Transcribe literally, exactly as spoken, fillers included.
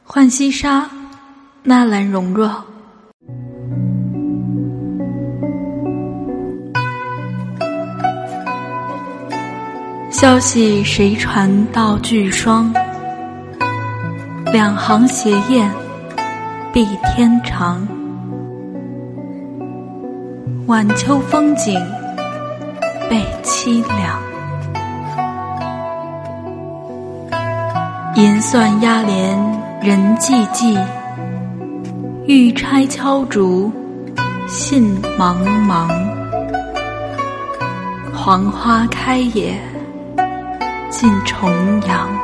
浣溪沙，纳兰容若。消息谁传到巨霜？两行斜雁，碧天长。晚秋风景，倍凄凉。银算压帘人寂寂，玉钗敲竹信茫茫。黄花开也尽重阳。